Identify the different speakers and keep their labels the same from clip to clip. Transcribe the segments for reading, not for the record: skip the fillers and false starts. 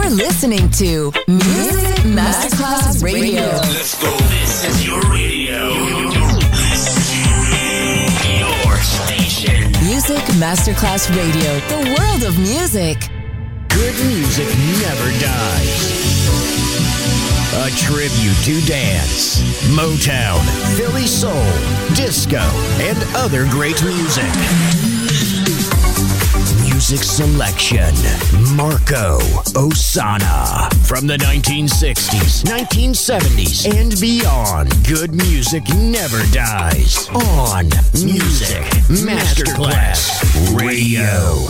Speaker 1: You're listening to Music Masterclass Radio.
Speaker 2: Let's go. This is your radio. Your station.
Speaker 1: Music Masterclass Radio. The world of music.
Speaker 3: Good music never dies. A tribute to dance, Motown, Philly soul, disco, and other great music. Music selection, Marco Ossanna. From the 1960s, 1970s, and beyond, good music never dies. On Music Masterclass Radio.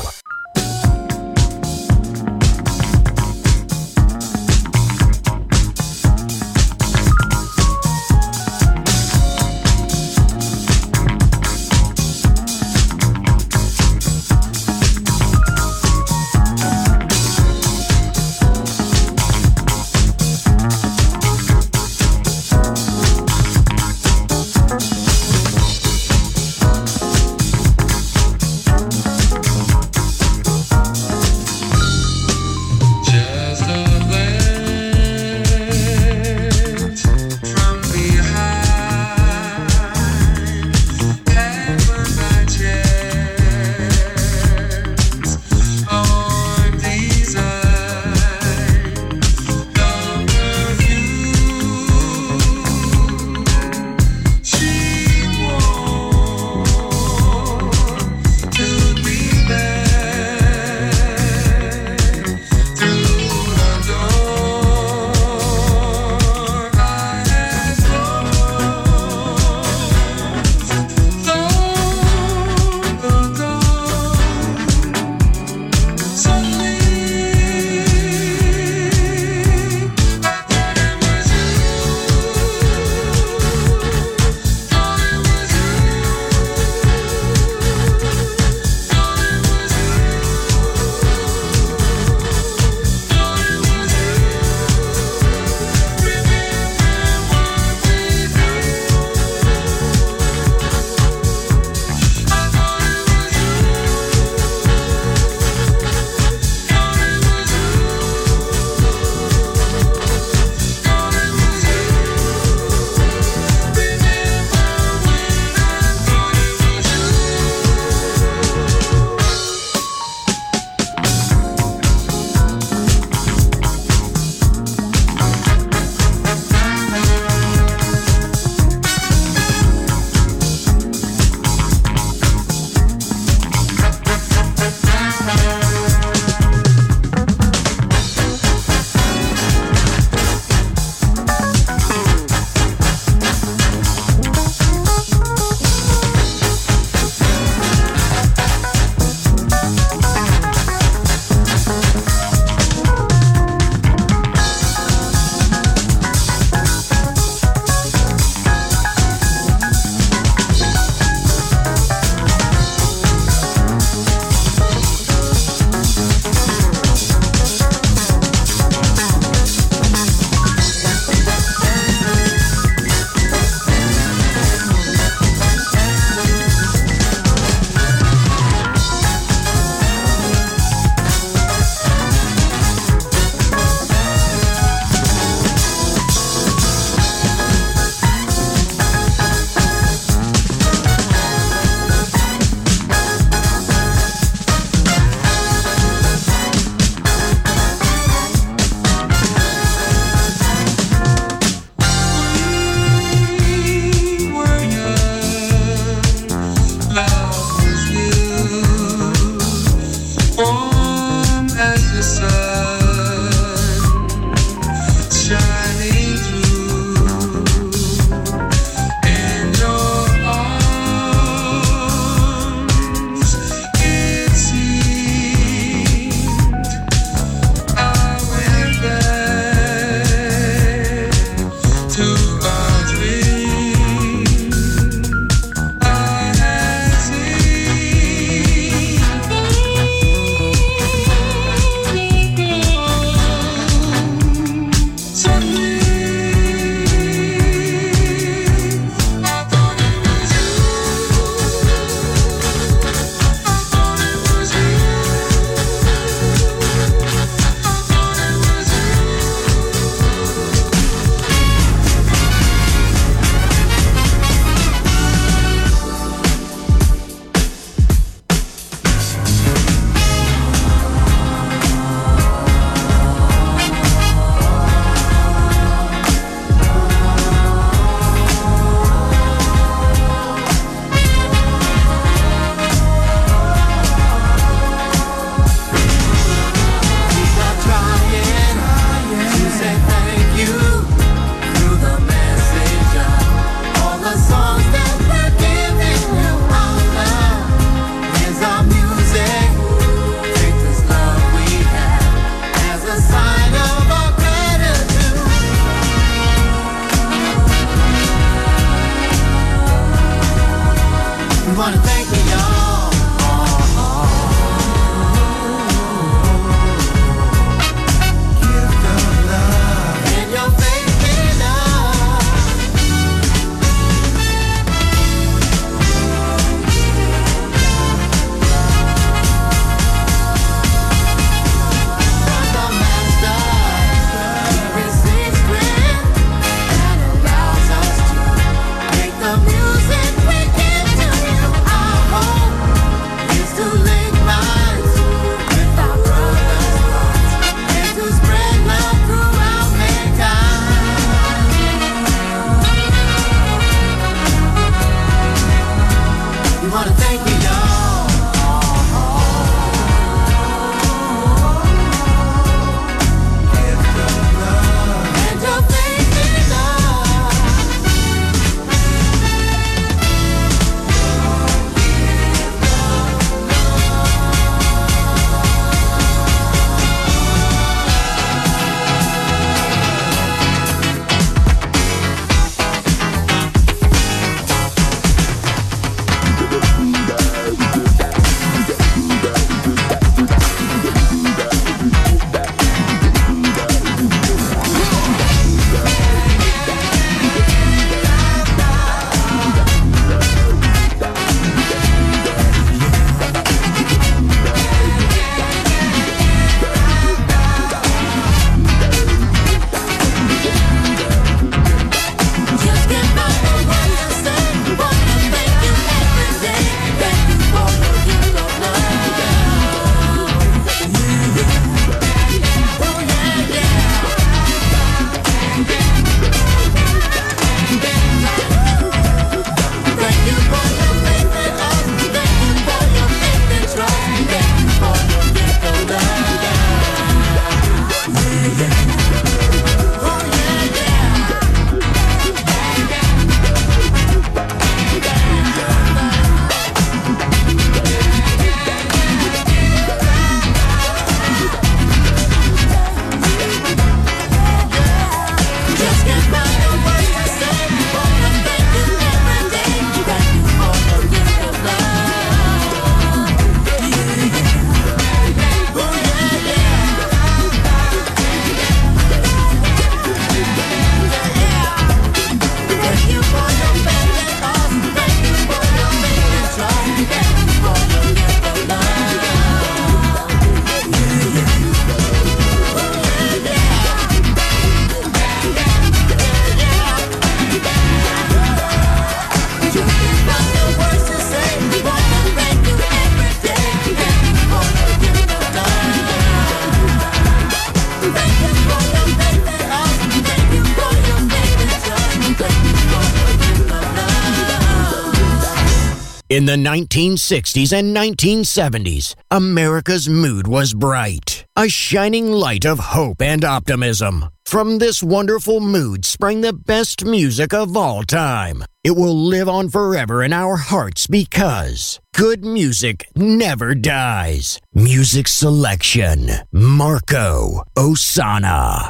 Speaker 3: In the 1960s and 1970s, America's mood was bright, a shining light of hope and optimism. From this wonderful mood sprang the best music of all time. It will live on forever in our hearts because good music never dies. Music selection, Marco Ossanna.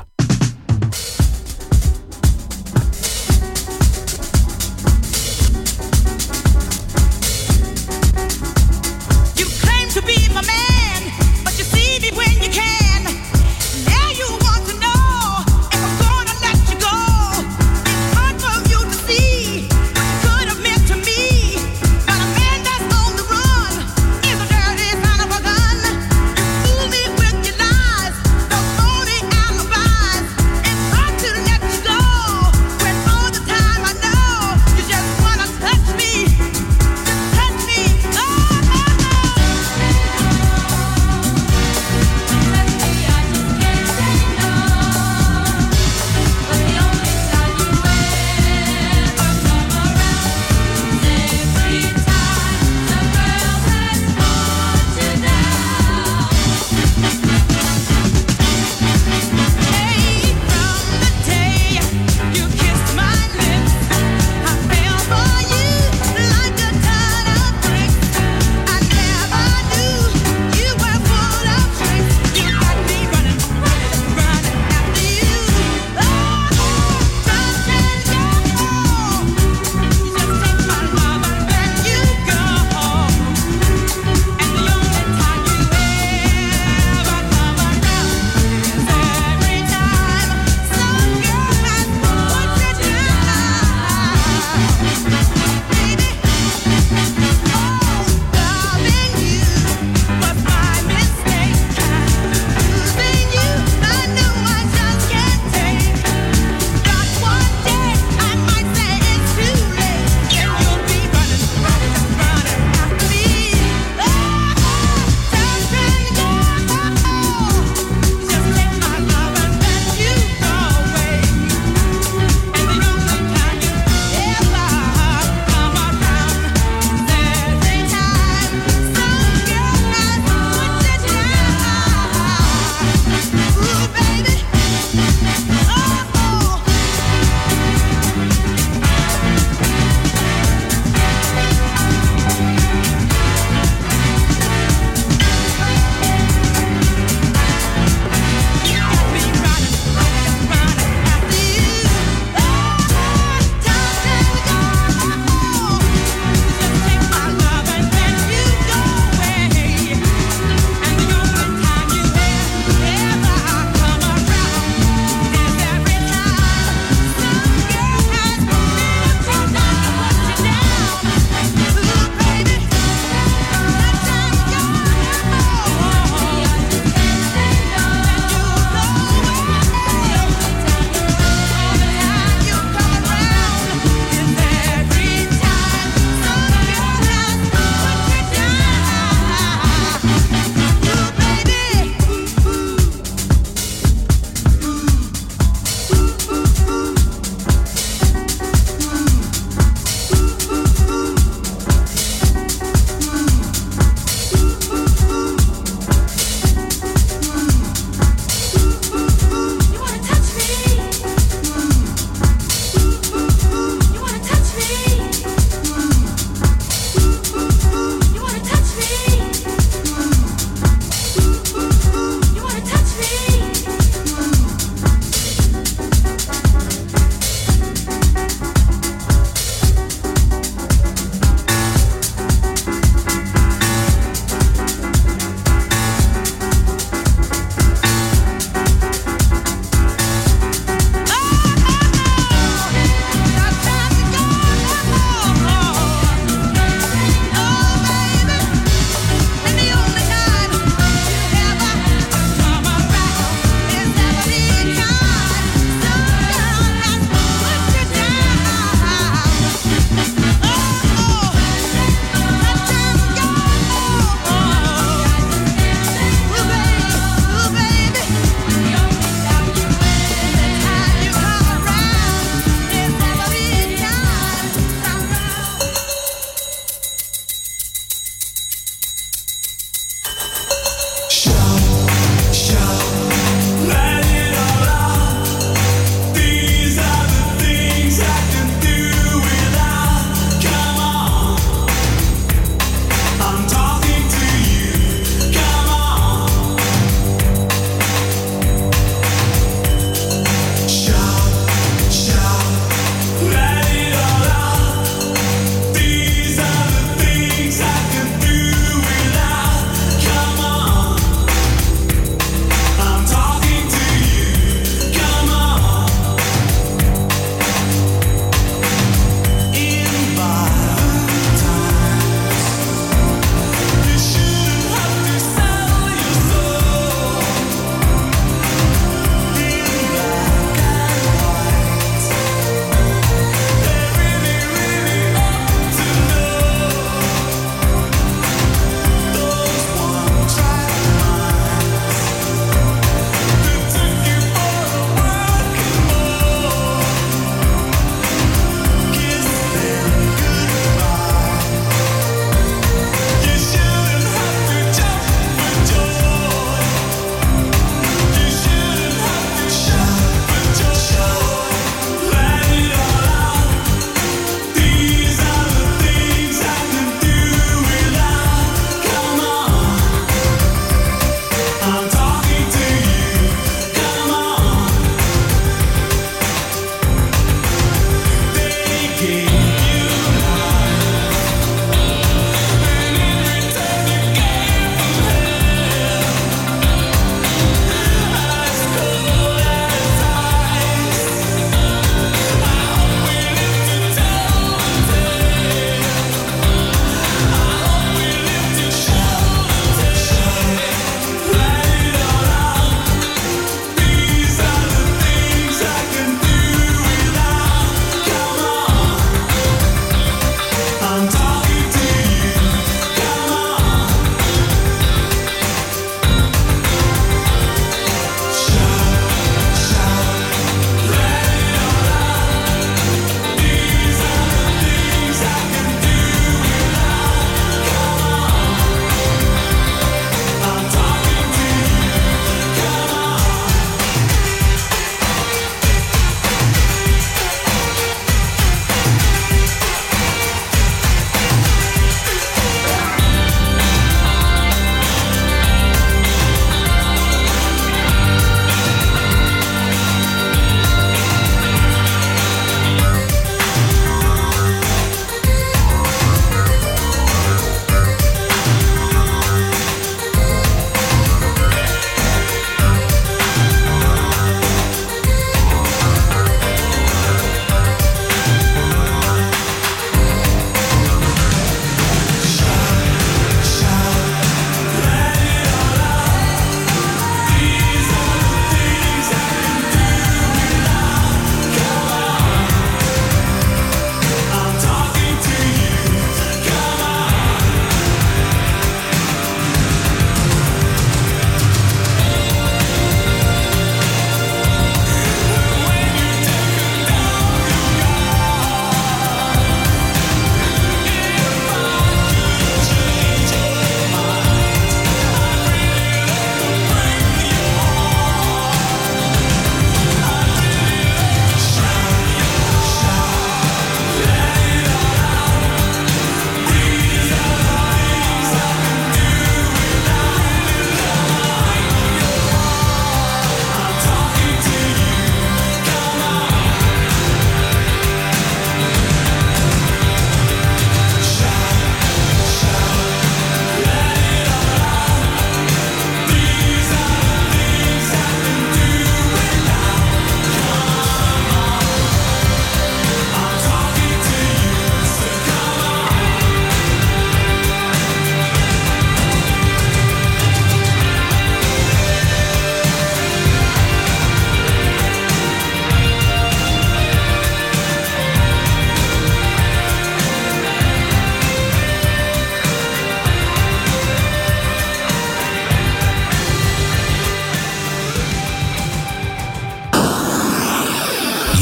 Speaker 4: Bye.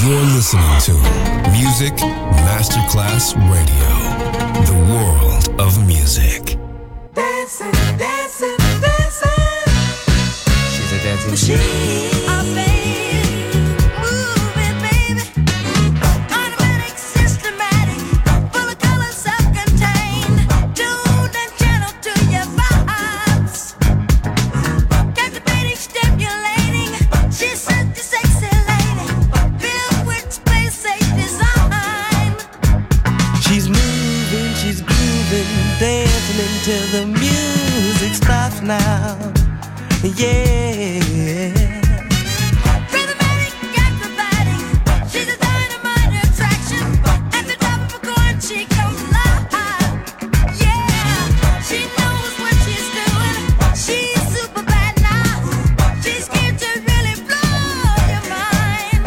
Speaker 4: You're listening to Music Masterclass Radio, the world of music.
Speaker 5: Dancing, dancing, dancing.
Speaker 6: She's a dancing
Speaker 5: machine.
Speaker 7: Till the music stops now, yeah.
Speaker 5: Rhythmatic, acrobatic, she's a dynamite attraction. At the top of a coin, she goes live. Yeah, she knows what she's doing. She's super bad now. She's here to really blow your mind.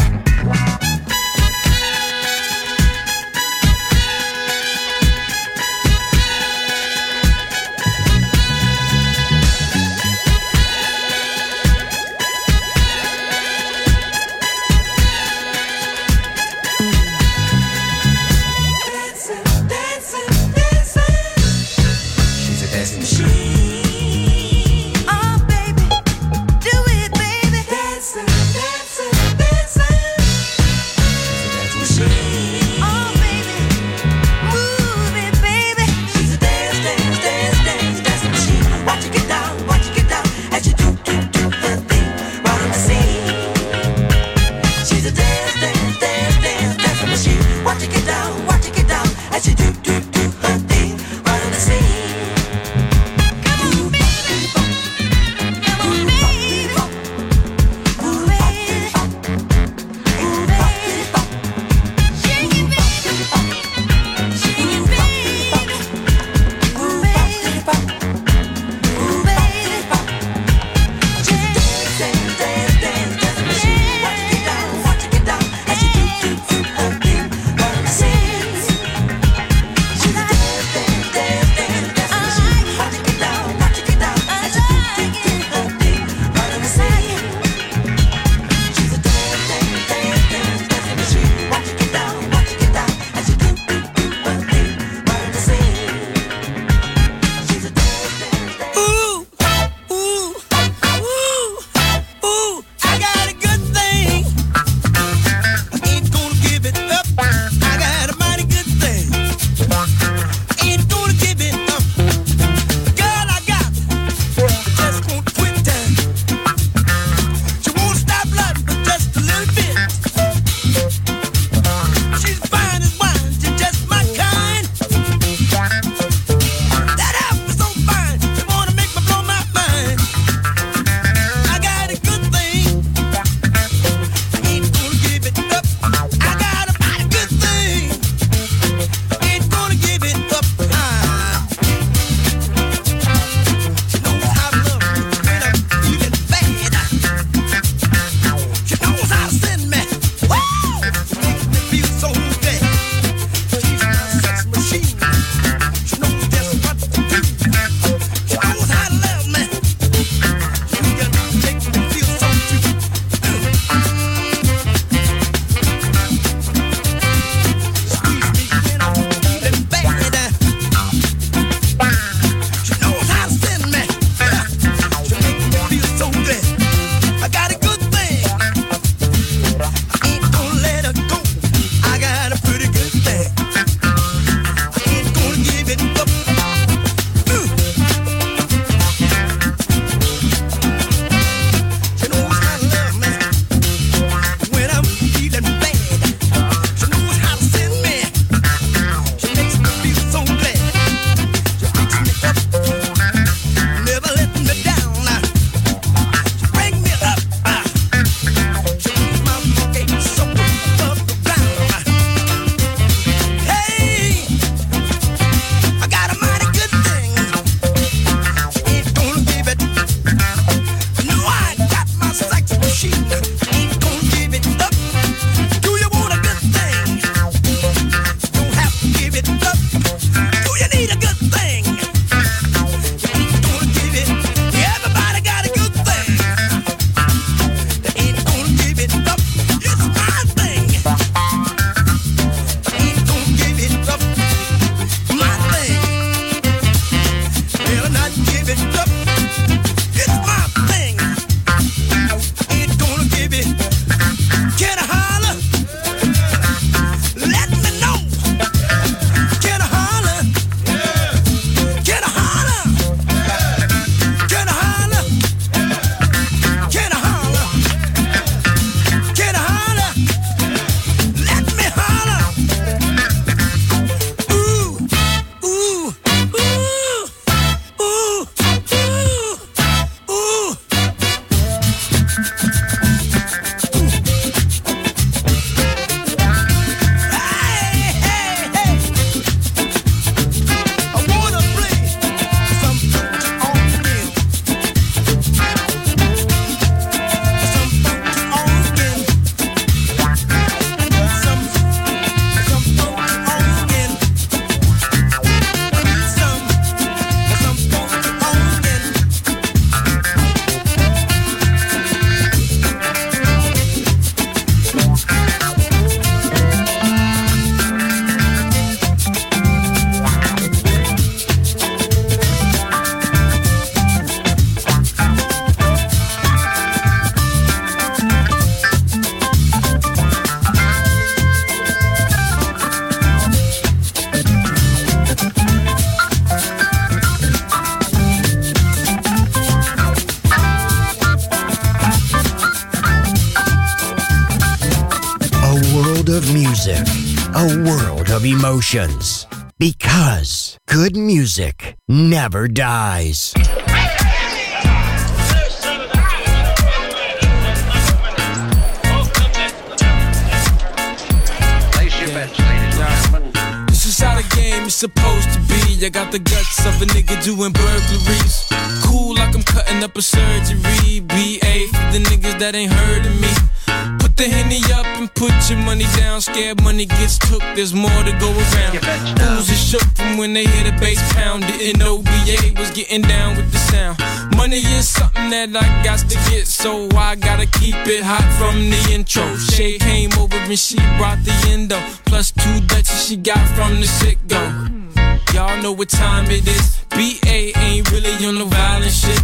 Speaker 3: music, a world of emotions. Because good music never dies.
Speaker 8: This is how the game is supposed to be. I got the guts of a nigga doing burglaries. Cool like I'm cutting up a surgery. BA for the niggas that ain't heard of me. Put the Henny up and put your money down. Scared money gets took, there's more to go around. Fools is shook from when they hear the bass pound. Didn't know BA was getting down with the sound. Money is something that I got to get, so I gotta keep it hot from the intro. Shay came over and she brought the endo. Plus 2 Dutchies she got from the sit-go. Y'all know what time it is. BA ain't really on the violent shit.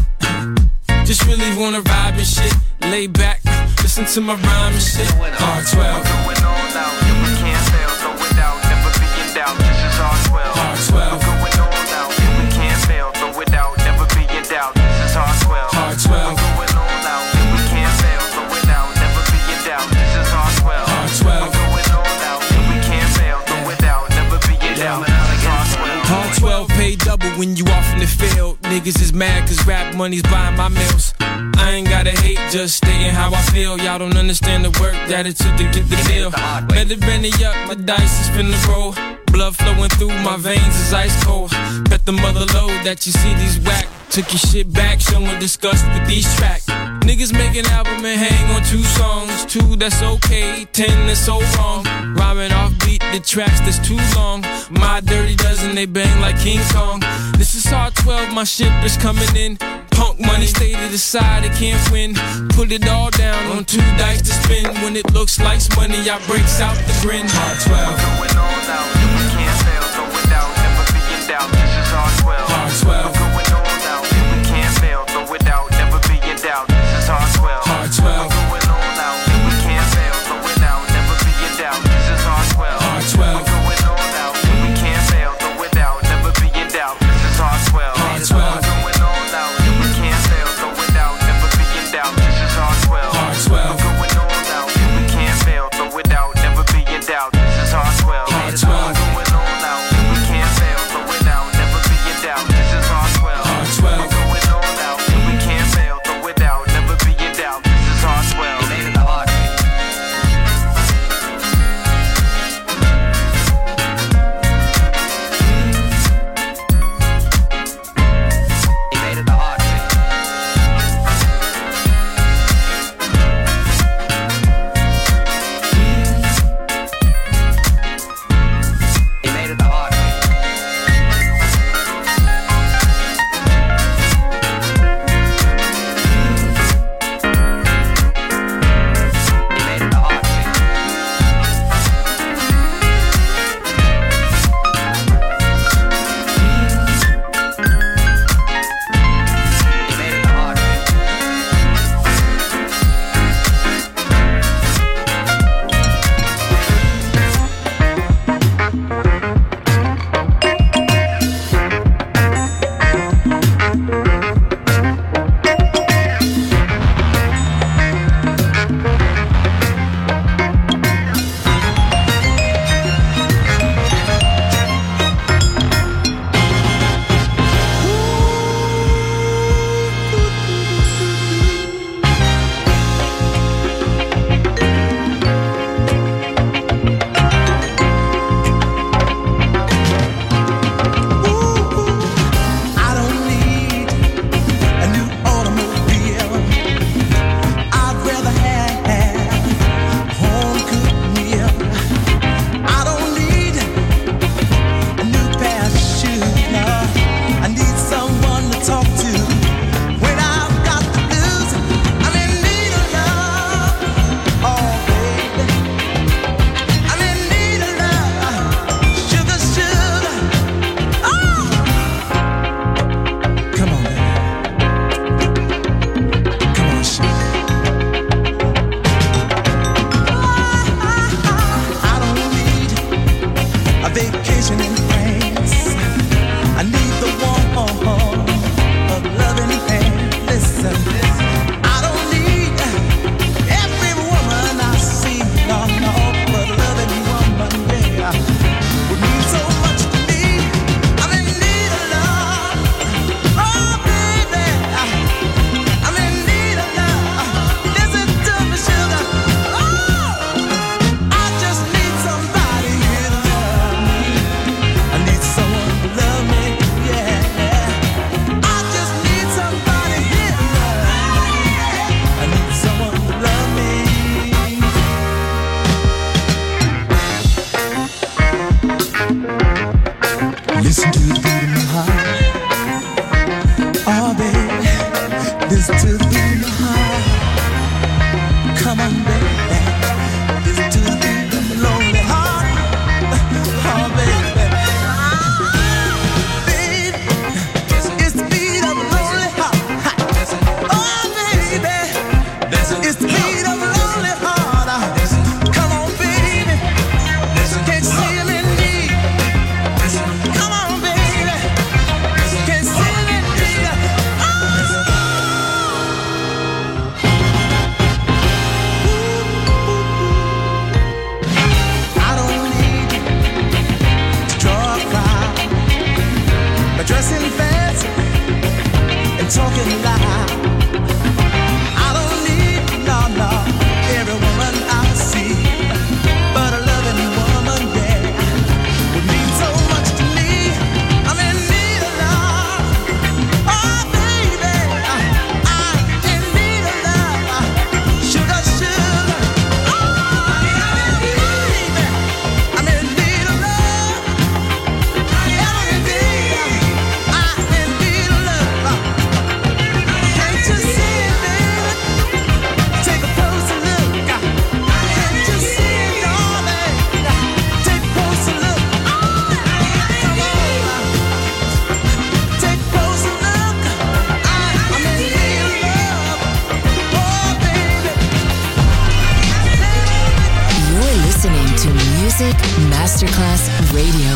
Speaker 8: Just really wanna vibe and shit. Lay back, listen to my rhyme and shit. R12.
Speaker 9: Going on now, we can't fail, throw it out, never be in doubt. This is R12.
Speaker 8: R12.
Speaker 9: Going on now, we can't fail, throw it out, never be in doubt. This is R12.
Speaker 8: R12.
Speaker 9: Going on now, we can't fail, throw it out, never be in doubt. This is R12.
Speaker 8: R12.
Speaker 9: Going on now, we can't fail, throw it out, never be in doubt. This is R12.
Speaker 8: R12 pay double when you off in the field. Niggas is mad cause rap money's buying my meals. I ain't gotta hate, just stating how I feel. Y'all don't understand the work that it took to get the deal. Better Benny up, my dice is finna roll. Blood flowing through my veins is ice cold. Bet the mother load that you see these whack. Took your shit back, showing disgust with these tracks. Niggas make an album and hang on 2 songs. 2 that's okay, 10 that's so wrong. Rhyming off beat the tracks that's too long. My dirty dozen, they bang like King Kong. This is R12, my ship is coming in. Punk money, stay to the side, it can't win. Put it all down on 2 dice to spin. When it looks like money, I breaks out the grin. R12.
Speaker 9: Going on now, we can't fail, throw it out, never be in doubt. This is R12.
Speaker 8: R12.
Speaker 9: Going on now, we can't fail, throw it out, never be in doubt. This is R12.
Speaker 8: R12.
Speaker 9: Going on now, we can't fail, throw it out, never be in doubt. This is R12.
Speaker 8: R12.
Speaker 9: Going on now, we can't fail, throw it out, never be in doubt. This is R12.
Speaker 8: R12.
Speaker 9: Going on now, we can't fail, throw it out, never be in doubt. This is R12.
Speaker 8: R12.
Speaker 9: Going on now, we can't fail, throw it out, never be in doubt. This is R12.
Speaker 8: R12.
Speaker 9: Going on now, we can't fail, throw it out, never be in doubt. This is R12.
Speaker 7: beat of a lonely heart. Come on, baby. Can't see me need. Come on, baby. Can't see me need. I don't need to draw a crowd by dressing fancy and talking loud. I don't need no every woman I see, but a loving woman, yeah, would mean so much to me. I'm in need of love, oh baby, I'm in need of love, sugar, sugar, oh baby, I'm in need of love, every day, I'm in need of love. Can't you see it, baby? Take a closer look. Can't you see it, darling? Take a closer look. Come on, take a closer look. I'm in need of love, oh baby.
Speaker 1: You're listening to Music Masterclass Radio.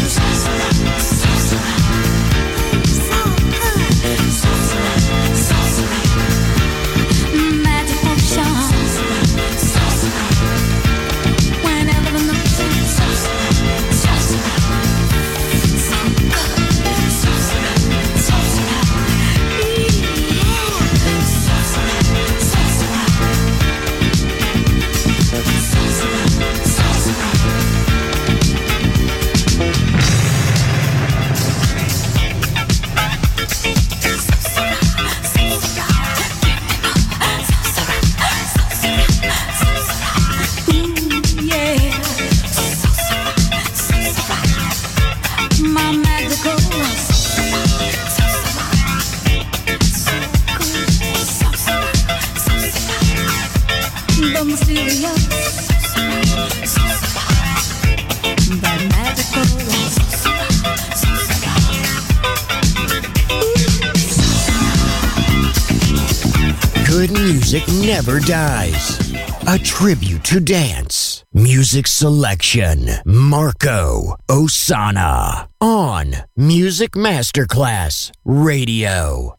Speaker 3: Good music never dies. A tribute to dance. Music selection. Marco Ossanna. On Music Masterclass Radio.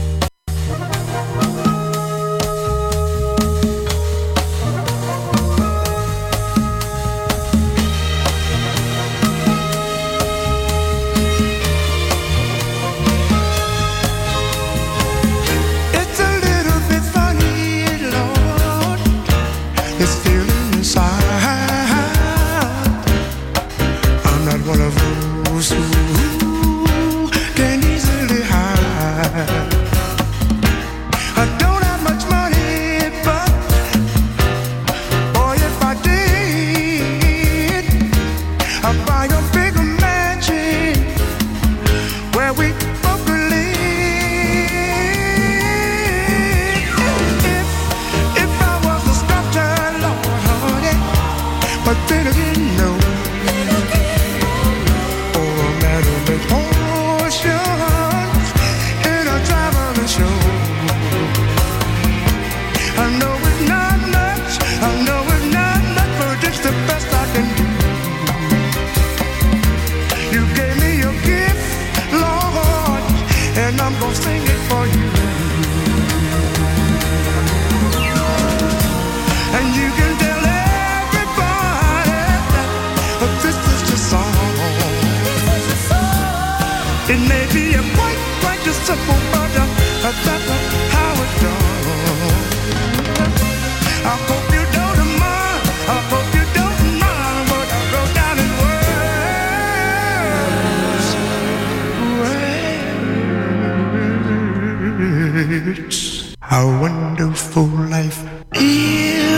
Speaker 10: How wonderful life is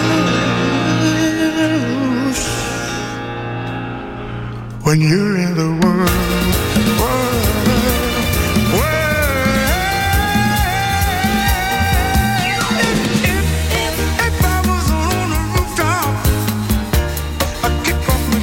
Speaker 10: when you're in the world. If I was on a rooftop, I'd kick off my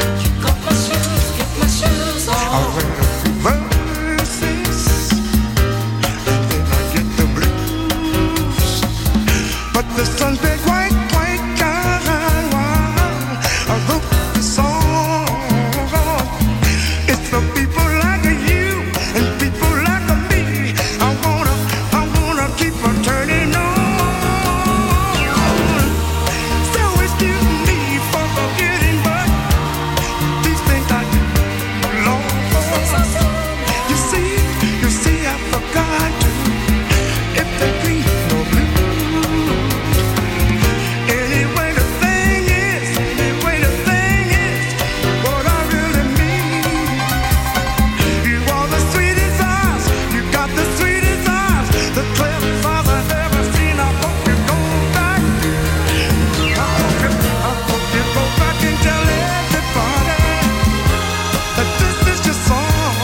Speaker 10: shoes. I'll wear a few verses, and then I get the blues. But the sun's been quite kind while I wrote the song. It's for people like you and people like me. I wanna keep on turning on. So excuse me for forgetting, but these things I do long for. You see, I forgot to. If there ain't no blues, anyway the thing is, what I really mean. You are the sweetest eyes, you got the sweetest eyes, the clearest eyes I've ever seen. I hope you go back. I hope you go back and tell everybody that this is your song.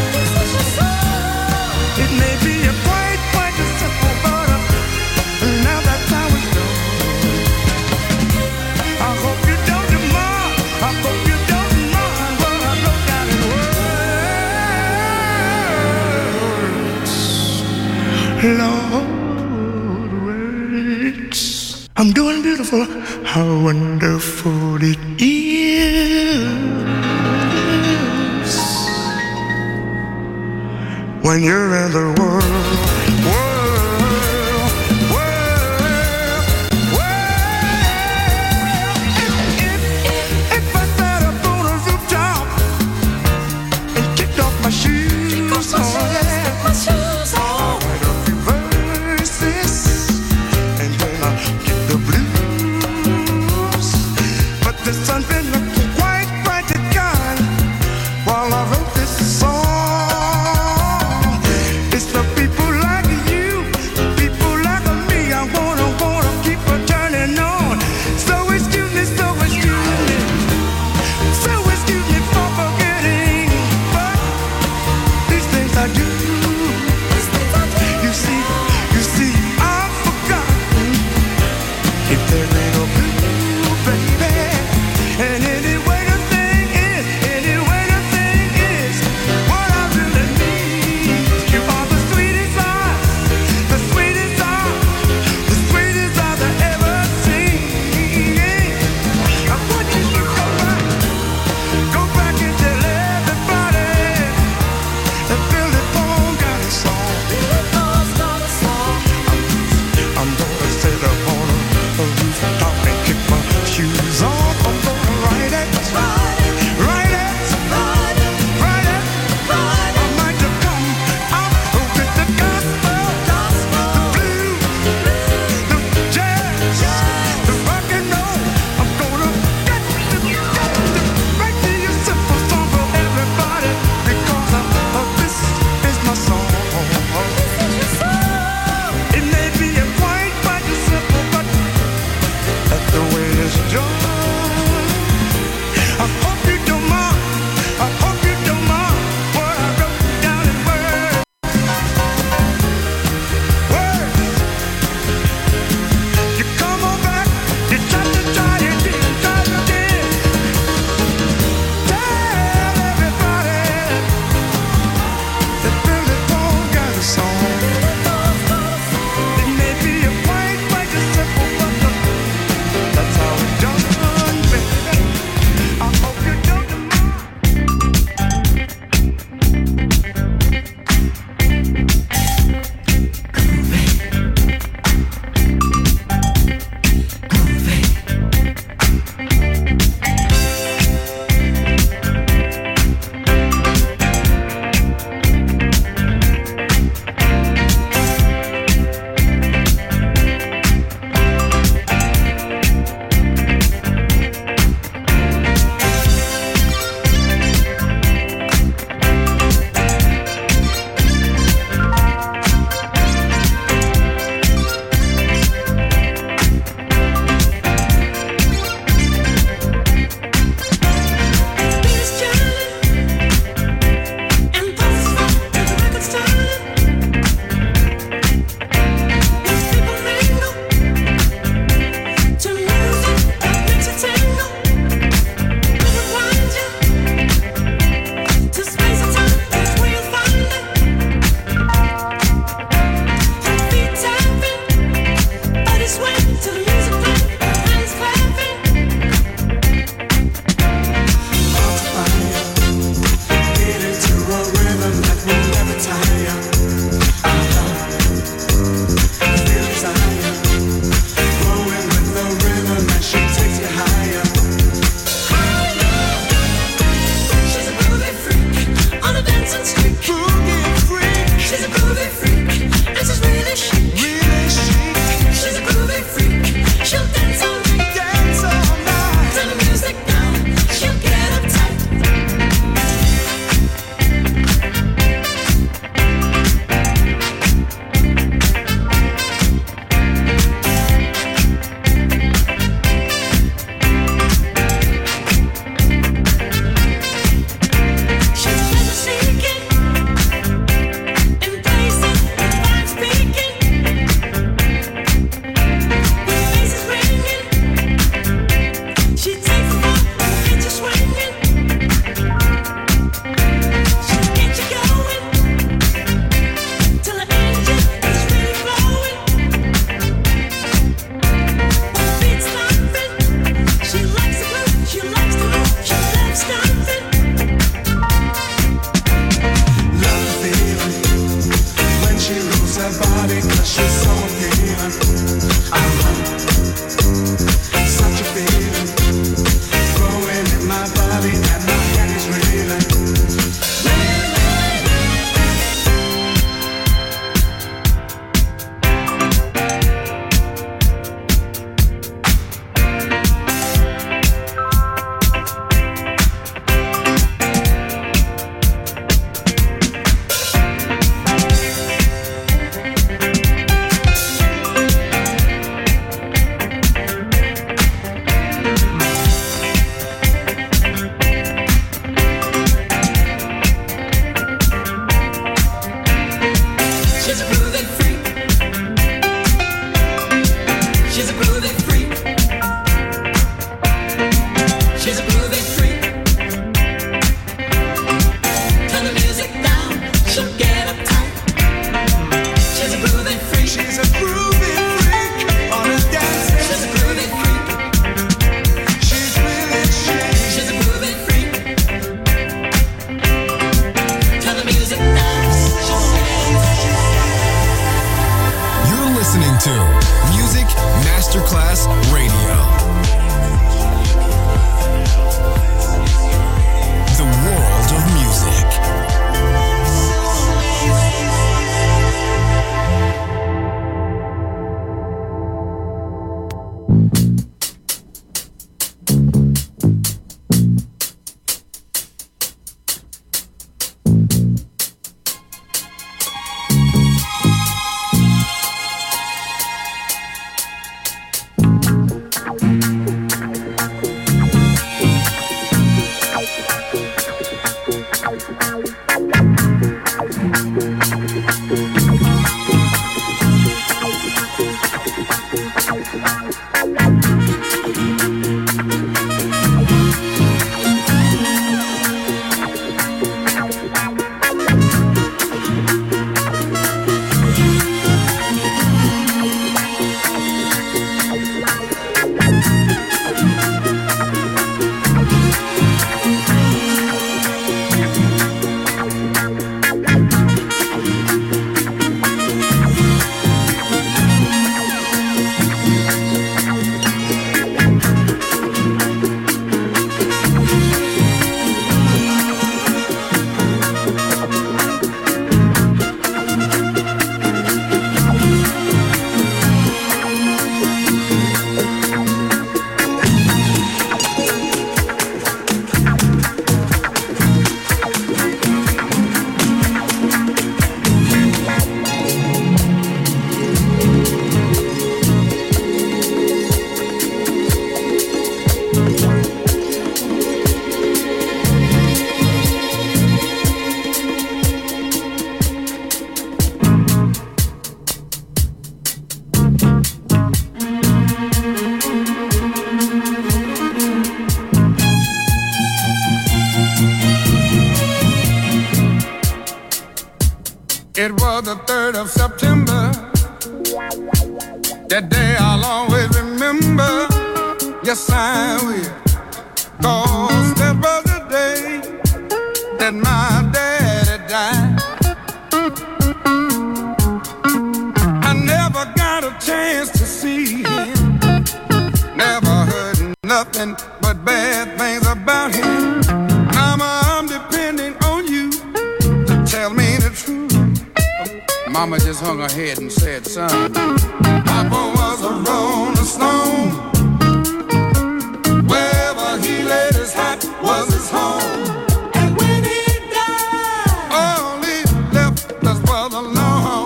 Speaker 10: It may be a quite a simple, but now that's how it's done. I hope you don't mind. I hope you don't mind what I wrote down in words. Lord, words. I'm doing beautiful. How wonderful it is when you're in the world. If I sat up on a rooftop and kicked off my shoes, I'll write a few verses and then I'll get the blues. But the sun's been looking quite bright and kind while I wrote this song. It's the people like It was the 3rd of September. That day I'll always remember. Yes, I will. 'Cause that was the day that my daddy died. I never got a chance to see him. Never heard nothing but bad things about him. Mama, I'm depending on you to tell me the truth. Mama just hung her head and said, son, Papa was a rolling stone. Wherever he laid his hat was his home. And when he died, all he left us was alone.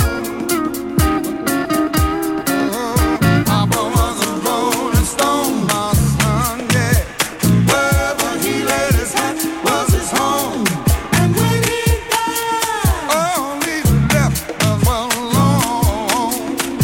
Speaker 10: Papa was a rolling stone, my son, yeah. Wherever he laid his hat was his home. And when he died, all he left us was alone.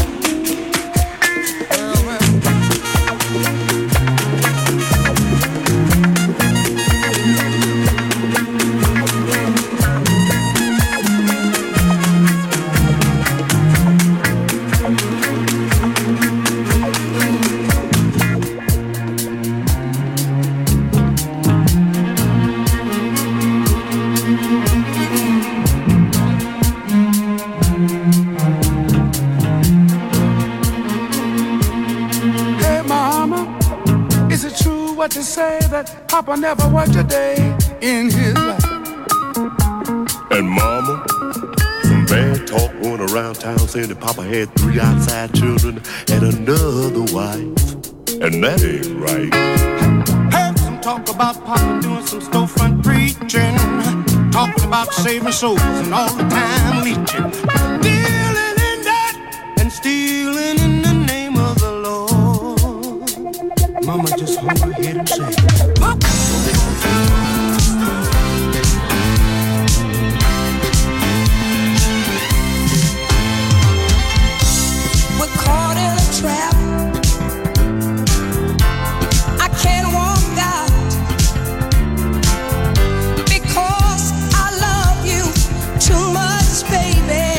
Speaker 10: Hey, Mama, is it true what you say that Papa never worked a day in his life?
Speaker 11: And Mama, some bad talk going around town saying that Papa had 3 outside children and another wife. And that ain't right.
Speaker 10: Heard some talk about Papa doing some storefront preaching, talking about saving souls and all the time leeching, dealing in that and stealing in the name of the Lord. Mama just hung her head and said,
Speaker 5: We're caught in a trap. I can't walk out because I love you too much, baby.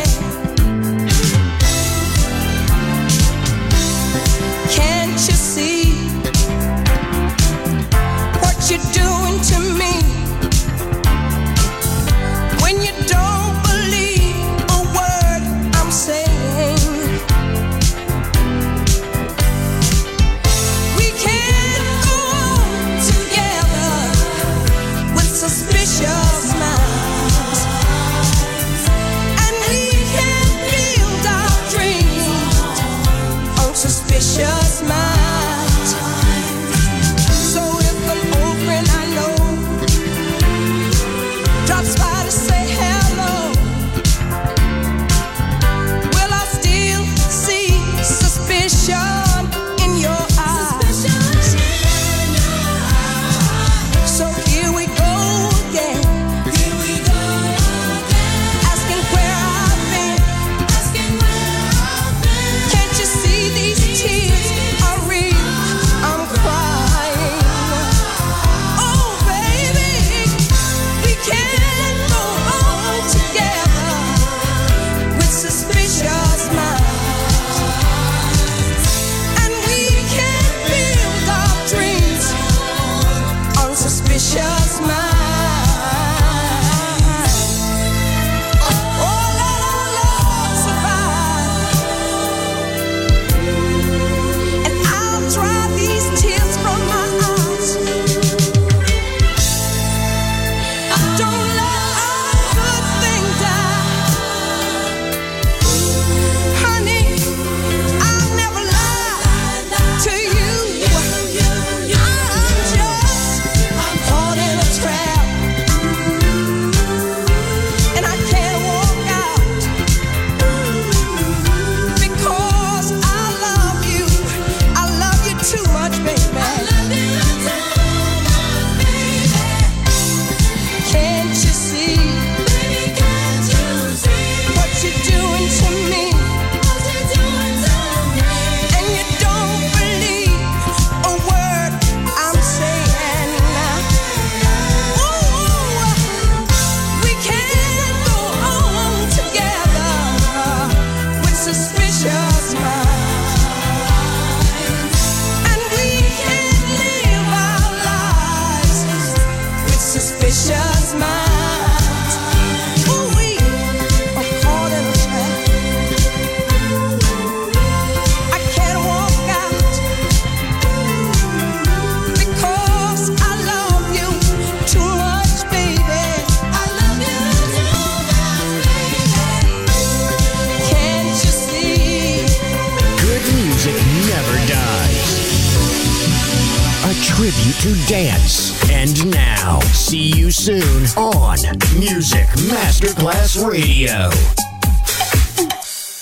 Speaker 3: to dance. And now, see you soon on Music Masterclass Radio.